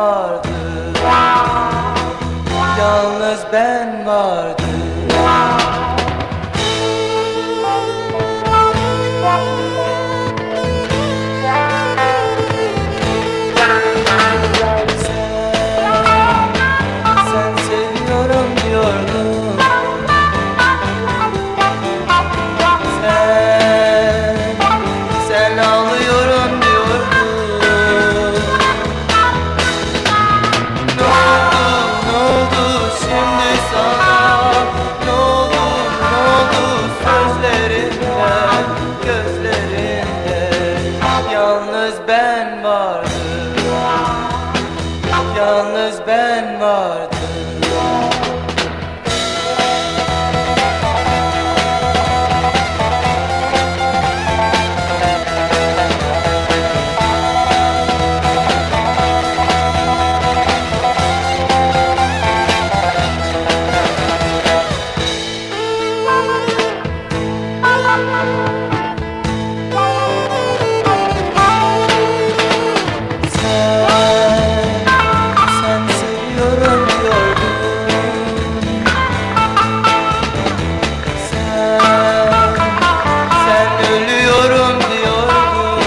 vardım, yalnız ben vardım. Sen seviyorum diyordun, sen ağlıyorum diyordun. Ne oldu şimdi sana? Ne oldu sözlerinden, gözlerinden? Yalnız ben vardım, yalnız ben vardım. Sen seviyorum diyordun, sen ölüyorum diyordun.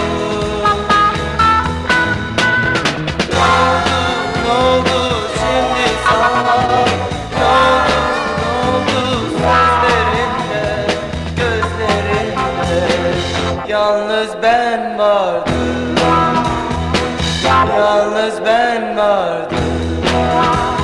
Ne oldu şimdi sana? Ne oldu sözlerinde, gözlerinde? Yalnız ben vardım, yalnız ben vardım.